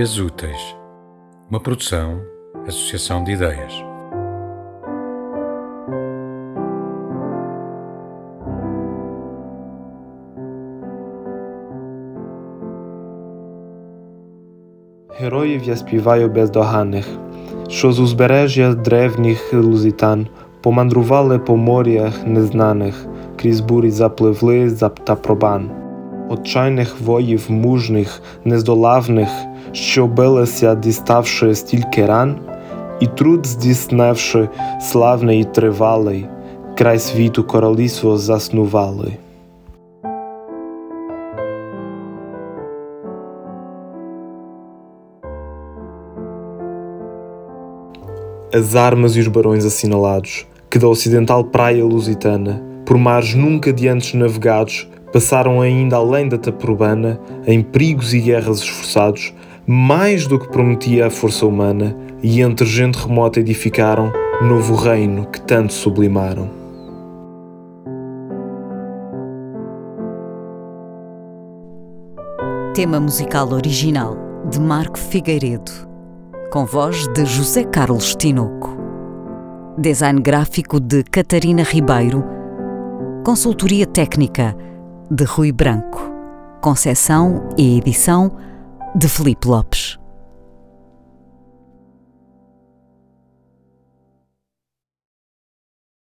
Ideias Úteis, uma produção, associação de ideias. Heroje śpiewają bezdochanych, що з узбережжя древніх Лузитан помандрували по морях незнаних, крізь бурі запливли та пробан. Отчайних воїв мужних, нездолавних, що билися, діставши стільки ран, і труд здійснивши славний і тривалий, край світу королівство заснували. As armas e os barões assinalados, que da ocidental praia lusitana, por mares nunca de antes navegados, passaram ainda além da Taprobana, em perigos e guerras esforçados, mais do que prometia a força humana, e entre gente remota edificaram novo reino que tanto sublimaram. Tema musical original de Marco Figueiredo, com voz de José Carlos Tinoco. Design gráfico de Catarina Ribeiro. Consultoria técnica de Rui Branco. Conceção e edição de Filipe Lopes.